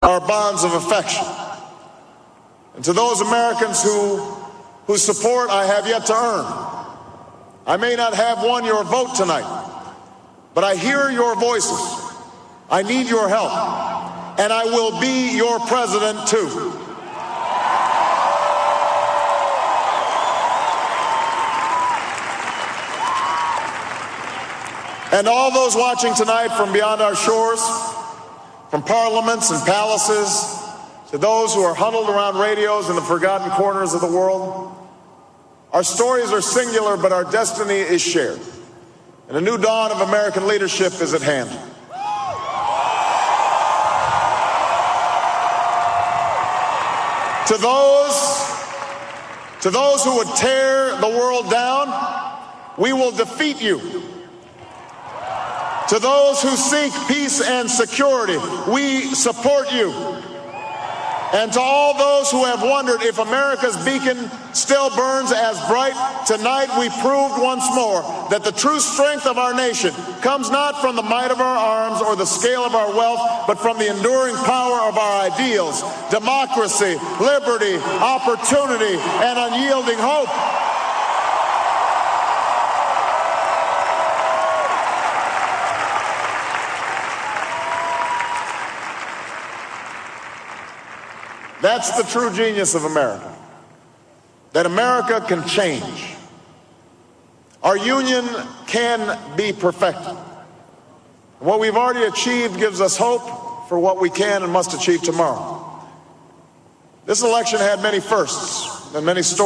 our bonds of affection. And to those Americans whose support I have yet to earn, I may not have won your vote tonight, but I hear your voices. I need your help, and I will be your president too. And all those watching tonight from beyond our shores, from parliaments and palaces, to those who are huddled around radios in the forgotten corners of the world, our stories are singular, but our destiny is shared. And a new dawn of American leadership is at hand. To those who would tear the world down, we will defeat you. To those who seek peace and security, we support you. And to all those who have wondered if America's beacon still burns as bright, tonight we proved once more that the true strength of our nation comes not from the might of our arms or the scale of our wealth, but from the enduring power of our ideals: democracy, liberty, opportunity, and unyielding hope. That's the true genius of America, that America can change. Our union can be perfected. What we've already achieved gives us hope for what we can and must achieve tomorrow. This election had many firsts and many stories.